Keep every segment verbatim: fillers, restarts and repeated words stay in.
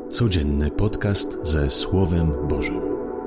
Codzienny podcast ze Słowem Bożym.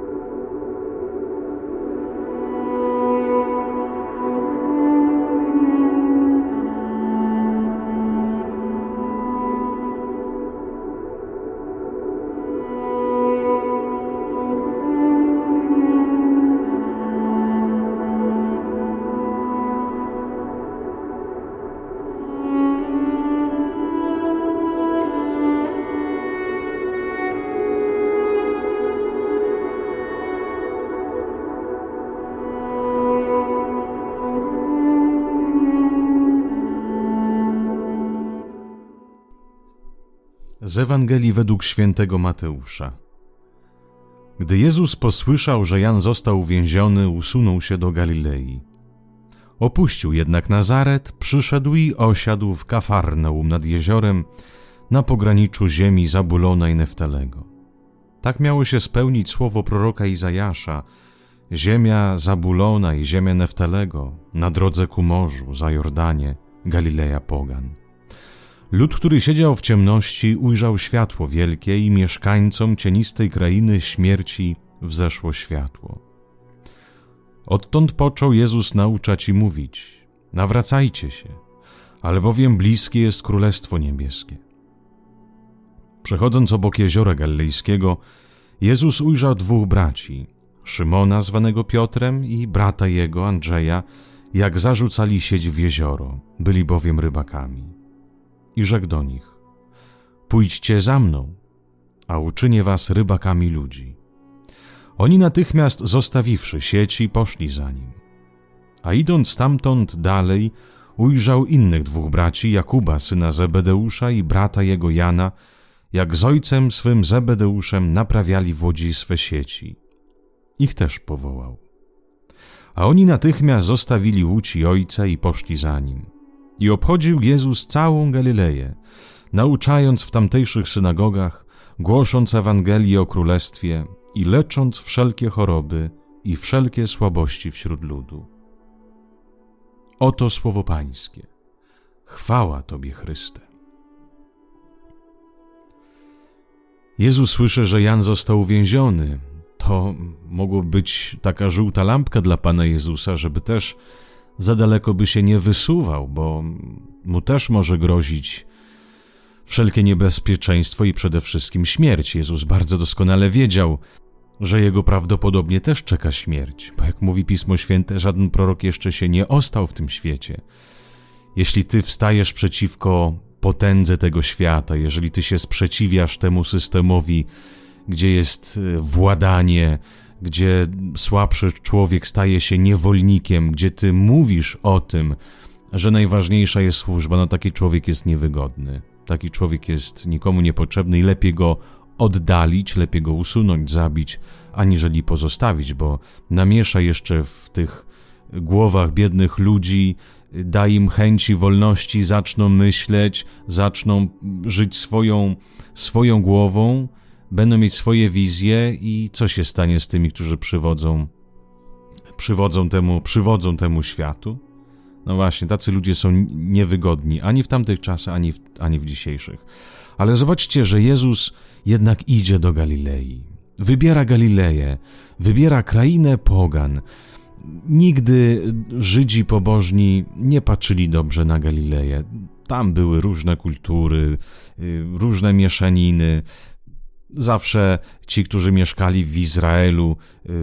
Z Ewangelii według świętego Mateusza. Gdy Jezus posłyszał, że Jan został uwięziony, usunął się do Galilei. Opuścił jednak Nazaret, przyszedł i osiadł w Kafarnaum nad jeziorem, na pograniczu ziemi Zabulona i Neftalego. Tak miało się spełnić słowo proroka Izajasza: ziemia Zabulona i ziemia Neftalego, na drodze ku morzu, za Jordanie, Galileja pogan. Lud, który siedział w ciemności, ujrzał światło wielkie i mieszkańcom cienistej krainy śmierci wzeszło światło. Odtąd począł Jezus nauczać i mówić: nawracajcie się, albowiem bliskie jest Królestwo Niebieskie. Przechodząc obok jeziora Galilejskiego, Jezus ujrzał dwóch braci, Szymona zwanego Piotrem i brata jego, Andrzeja, jak zarzucali sieć w jezioro, byli bowiem rybakami. I rzekł do nich: pójdźcie za mną, a uczynię was rybakami ludzi. Oni natychmiast, zostawiwszy sieci, poszli za nim. A idąc stamtąd dalej, ujrzał innych dwóch braci, Jakuba, syna Zebedeusza, i brata jego Jana, jak z ojcem swym Zebedeuszem naprawiali w łodzi swe sieci. Ich też powołał. A oni natychmiast zostawili łódź i ojca i poszli za nim. I obchodził Jezus całą Galileję, nauczając w tamtejszych synagogach, głosząc Ewangelię o Królestwie i lecząc wszelkie choroby i wszelkie słabości wśród ludu. Oto słowo Pańskie. Chwała Tobie, Chryste. Jezus słyszy, że Jan został uwięziony. To mogło być taka żółta lampka dla Pana Jezusa, żeby też za daleko by się nie wysuwał, bo mu też może grozić wszelkie niebezpieczeństwo i przede wszystkim śmierć. Jezus bardzo doskonale wiedział, że jego prawdopodobnie też czeka śmierć, bo jak mówi Pismo Święte, żaden prorok jeszcze się nie ostał w tym świecie. Jeśli ty wstajesz przeciwko potędze tego świata, jeżeli ty się sprzeciwiasz temu systemowi, gdzie jest władanie, gdzie słabszy człowiek staje się niewolnikiem, gdzie ty mówisz o tym, że najważniejsza jest służba, no taki człowiek jest niewygodny. Taki człowiek jest nikomu niepotrzebny i lepiej go oddalić, lepiej go usunąć, zabić, aniżeli pozostawić, bo namiesza jeszcze w tych głowach biednych ludzi, da im chęci wolności, zaczną myśleć, zaczną żyć swoją, swoją głową, będą mieć swoje wizje i co się stanie z tymi, którzy przywodzą, przywodzą temu, przywodzą temu światu? No właśnie, tacy ludzie są niewygodni ani w tamtych czasach, ani w, ani w dzisiejszych. Ale zobaczcie, że Jezus jednak idzie do Galilei. Wybiera Galileję, wybiera krainę pogan. Nigdy Żydzi pobożni nie patrzyli dobrze na Galileję. Tam były różne kultury, różne mieszaniny. Zawsze ci, którzy mieszkali w Izraelu,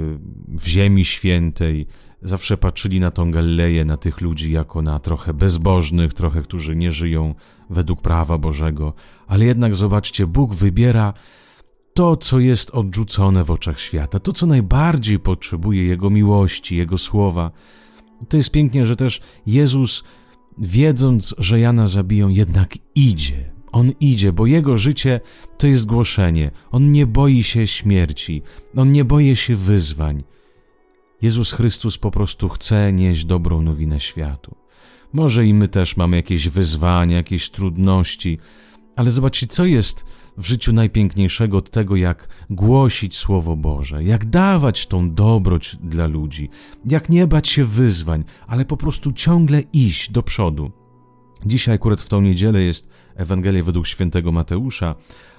w Ziemi Świętej, zawsze patrzyli na tą Galileję, na tych ludzi jako na trochę bezbożnych, trochę, którzy nie żyją według prawa Bożego. Ale jednak zobaczcie, Bóg wybiera to, co jest odrzucone w oczach świata, to, co najbardziej potrzebuje Jego miłości, Jego słowa. To jest pięknie, że też Jezus, wiedząc, że Jana zabiją, jednak idzie. On idzie, bo Jego życie to jest głoszenie. On nie boi się śmierci. On nie boi się wyzwań. Jezus Chrystus po prostu chce nieść dobrą nowinę światu. Może i my też mamy jakieś wyzwania, jakieś trudności, ale zobaczcie, co jest w życiu najpiękniejszego od tego, jak głosić Słowo Boże, jak dawać tą dobroć dla ludzi, jak nie bać się wyzwań, ale po prostu ciągle iść do przodu. Dzisiaj akurat w tą niedzielę jest Ewangelia według świętego Mateusza,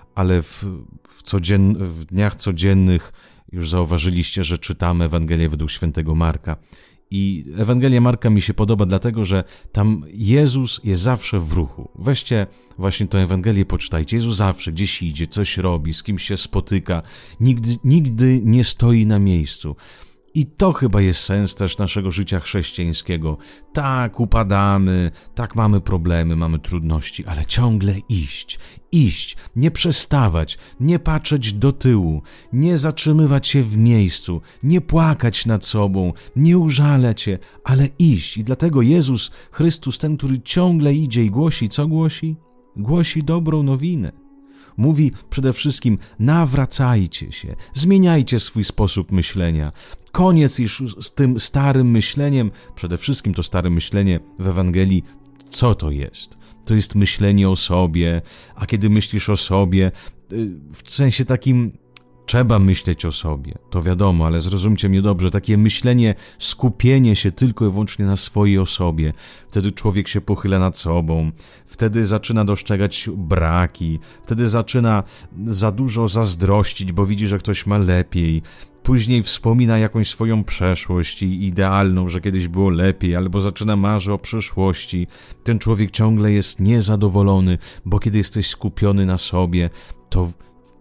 ale w, w, codzien, w dniach codziennych już zauważyliście, że czytamy Ewangelię według świętego Marka. I Ewangelia Marka mi się podoba dlatego, że tam Jezus jest zawsze w ruchu. Weźcie właśnie tę Ewangelię, poczytajcie. Jezus zawsze gdzieś idzie, coś robi, z kimś się spotyka. Nigdy, nigdy nie stoi na miejscu. I to chyba jest sens też naszego życia chrześcijańskiego. Tak, upadamy, tak mamy problemy, mamy trudności, ale ciągle iść, iść, nie przestawać, nie patrzeć do tyłu, nie zatrzymywać się w miejscu, nie płakać nad sobą, nie użalać się, ale iść. I dlatego Jezus Chrystus, ten, który ciągle idzie i głosi, co głosi? Głosi dobrą nowinę. Mówi przede wszystkim: nawracajcie się, zmieniajcie swój sposób myślenia. Koniec już z tym starym myśleniem, przede wszystkim to stare myślenie w Ewangelii, co to jest? To jest myślenie o sobie, a kiedy myślisz o sobie, w sensie takim, trzeba myśleć o sobie, to wiadomo, ale zrozumcie mnie dobrze, takie myślenie, skupienie się tylko i wyłącznie na swojej osobie. Wtedy człowiek się pochyla nad sobą, wtedy zaczyna dostrzegać braki, wtedy zaczyna za dużo zazdrościć, bo widzi, że ktoś ma lepiej. Później wspomina jakąś swoją przeszłość i idealną, że kiedyś było lepiej, albo zaczyna marzyć o przyszłości. Ten człowiek ciągle jest niezadowolony, bo kiedy jesteś skupiony na sobie, to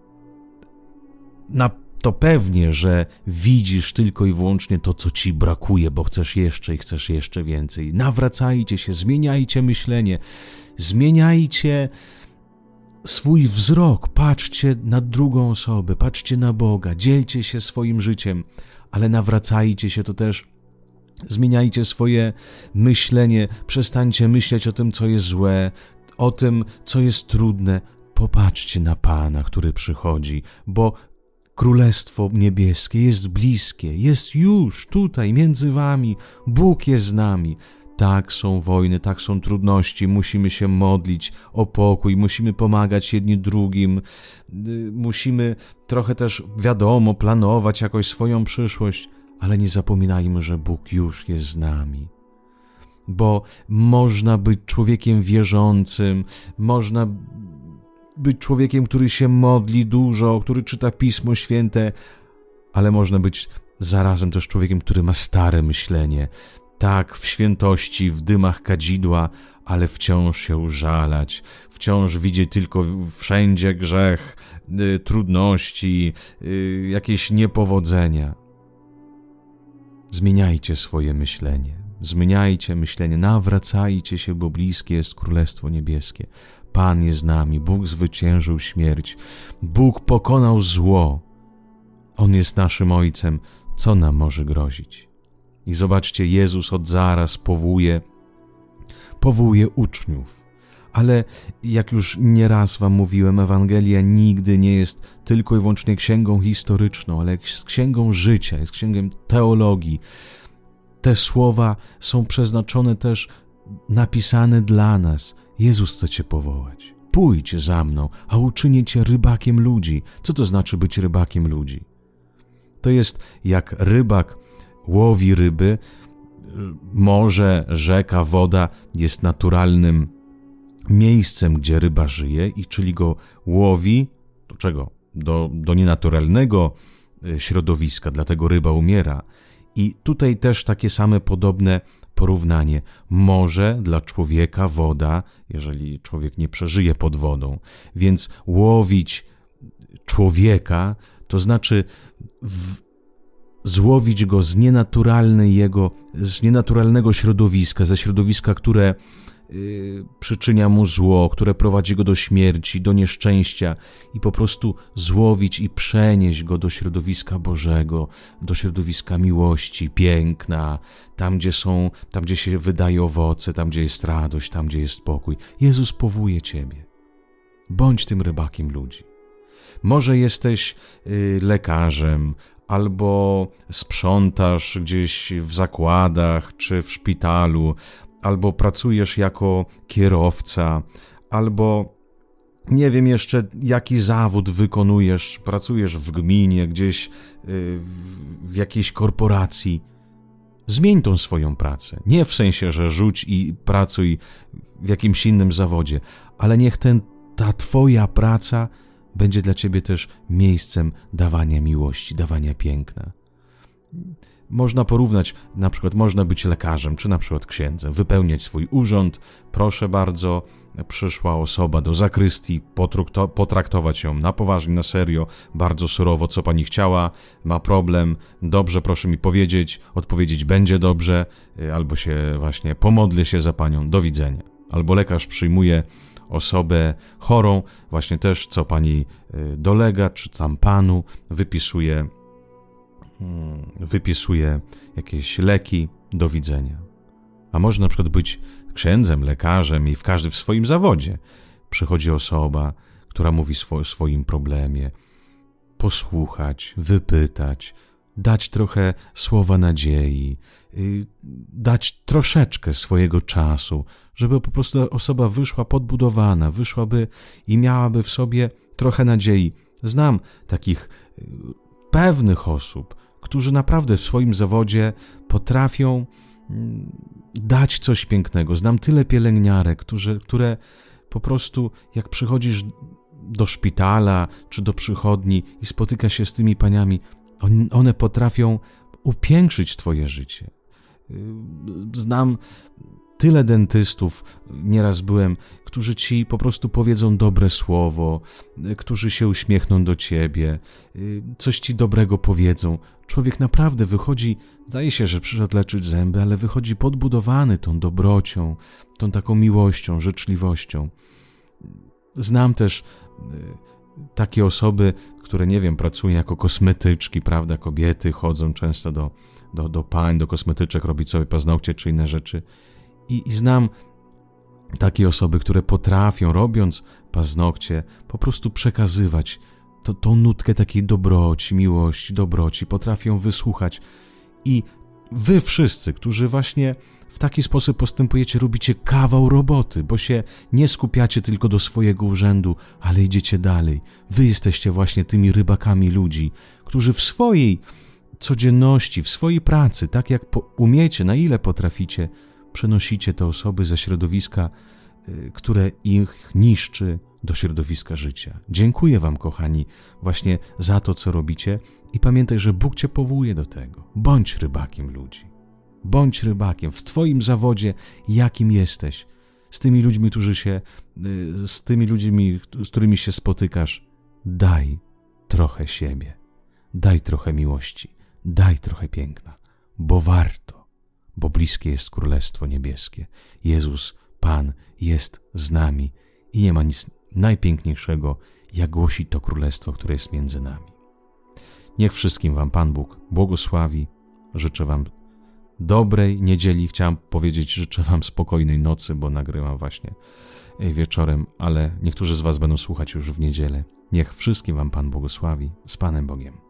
Na to pewnie, że widzisz tylko i wyłącznie to, co ci brakuje, bo chcesz jeszcze i chcesz jeszcze więcej. Nawracajcie się, zmieniajcie myślenie, zmieniajcie swój wzrok, patrzcie na drugą osobę, patrzcie na Boga, dzielcie się swoim życiem, ale nawracajcie się, to też zmieniajcie swoje myślenie, przestańcie myśleć o tym, co jest złe, o tym, co jest trudne. Popatrzcie na Pana, który przychodzi, bo Królestwo Niebieskie jest bliskie, jest już tutaj między wami, Bóg jest z nami. Tak są wojny, tak są trudności, musimy się modlić o pokój, musimy pomagać jedni drugim, musimy trochę też, wiadomo, planować jakoś swoją przyszłość, ale nie zapominajmy, że Bóg już jest z nami. Bo można być człowiekiem wierzącym, można być człowiekiem, który się modli dużo, który czyta Pismo Święte, ale można być zarazem też człowiekiem, który ma stare myślenie. Tak, w świętości, w dymach kadzidła, ale wciąż się użalać, wciąż widzieć tylko wszędzie grzech, y, trudności, y, jakieś niepowodzenia. Zmieniajcie swoje myślenie, zmieniajcie myślenie, nawracajcie się, bo bliskie jest Królestwo Niebieskie. Pan jest z nami, Bóg zwyciężył śmierć, Bóg pokonał zło. On jest naszym Ojcem, co nam może grozić? I zobaczcie, Jezus od zaraz powołuje, powołuje uczniów. Ale jak już nieraz wam mówiłem, Ewangelia nigdy nie jest tylko i wyłącznie księgą historyczną, ale jest księgą życia, jest księgą teologii. Te słowa są przeznaczone też, napisane dla nas. Jezus chce cię powołać. Pójdź za mną, a uczynię cię rybakiem ludzi. Co to znaczy być rybakiem ludzi? To jest jak rybak łowi ryby, morze, rzeka, woda jest naturalnym miejscem, gdzie ryba żyje, i czyli go łowi, do czego? Do, do nienaturalnego środowiska, dlatego ryba umiera. I tutaj też takie same podobne porównanie. Morze dla człowieka, woda, jeżeli człowiek nie przeżyje pod wodą. Więc łowić człowieka, to znaczy w, złowić go z nienaturalnej jego, z nienaturalnego środowiska, ze środowiska, które yy, przyczynia mu zło, które prowadzi go do śmierci, do nieszczęścia, i po prostu złowić i przenieść go do środowiska Bożego, do środowiska miłości, piękna, tam gdzie są, tam gdzie się wydaje owoce, tam gdzie jest radość, tam gdzie jest pokój. Jezus powołuje ciebie. Bądź tym rybakiem ludzi. Może jesteś yy, lekarzem, albo sprzątasz gdzieś w zakładach czy w szpitalu, albo pracujesz jako kierowca, albo nie wiem jeszcze jaki zawód wykonujesz, pracujesz w gminie, gdzieś w jakiejś korporacji. Zmień tą swoją pracę. Nie w sensie, że rzuć i pracuj w jakimś innym zawodzie, ale niech ten, ta twoja praca będzie dla ciebie też miejscem dawania miłości, dawania piękna. Można porównać, na przykład można być lekarzem, czy na przykład księdzem, wypełniać swój urząd, proszę bardzo, przyszła osoba do zakrystii, potraktować ją na poważnie, na serio, bardzo surowo, co pani chciała, ma problem, dobrze, proszę mi powiedzieć, odpowiedzieć będzie dobrze, albo się właśnie pomodlę się za panią, do widzenia. Albo lekarz przyjmuje osobę chorą, właśnie też co pani dolega, czy tam panu, wypisuje, wypisuje jakieś leki, do widzenia. A może na przykład być księdzem, lekarzem i w każdy w swoim zawodzie. Przychodzi osoba, która mówi o swoim problemie, posłuchać, wypytać, dać trochę słowa nadziei, dać troszeczkę swojego czasu, żeby po prostu osoba wyszła podbudowana, wyszłaby i miałaby w sobie trochę nadziei. Znam takich pewnych osób, którzy naprawdę w swoim zawodzie potrafią dać coś pięknego. Znam tyle pielęgniarek, którzy, które po prostu jak przychodzisz do szpitala czy do przychodni i spotyka się z tymi paniami, one potrafią upiększyć twoje życie. Znam tyle dentystów, nieraz byłem, którzy ci po prostu powiedzą dobre słowo, którzy się uśmiechną do ciebie, coś ci dobrego powiedzą. Człowiek naprawdę wychodzi, zdaje się, że przyszedł leczyć zęby, ale wychodzi podbudowany tą dobrocią, tą taką miłością, życzliwością. Znam też takie osoby, które, nie wiem, pracują jako kosmetyczki, prawda, kobiety chodzą często do, do, do pań, do kosmetyczek, robić sobie paznokcie czy inne rzeczy. I, I znam takie osoby, które potrafią, robiąc paznokcie, po prostu przekazywać to, tą nutkę takiej dobroci, miłości, dobroci, potrafią wysłuchać. I wy wszyscy, którzy właśnie w taki sposób postępujecie, robicie kawał roboty, bo się nie skupiacie tylko do swojego urzędu, ale idziecie dalej. Wy jesteście właśnie tymi rybakami ludzi, którzy w swojej codzienności, w swojej pracy, tak jak po, umiecie, na ile potraficie, przenosicie te osoby ze środowiska, które ich niszczy, do środowiska życia. Dziękuję wam, kochani, właśnie za to, co robicie i pamiętaj, że Bóg cię powołuje do tego. Bądź rybakiem ludzi. Bądź rybakiem w twoim zawodzie, jakim jesteś. Z tymi ludźmi, którzy się, z tymi ludźmi, z którymi się spotykasz, daj trochę siebie. Daj trochę miłości. Daj trochę piękna. Bo warto. Bo bliskie jest Królestwo Niebieskie. Jezus, Pan, jest z nami i nie ma nic najpiękniejszego, jak głosi to Królestwo, które jest między nami. Niech wszystkim wam Pan Bóg błogosławi. Życzę wam dobrej niedzieli. Chciałem powiedzieć, życzę wam spokojnej nocy, bo nagrywam właśnie wieczorem, ale niektórzy z was będą słuchać już w niedzielę. Niech wszystkim wam Pan błogosławi. Z Panem Bogiem.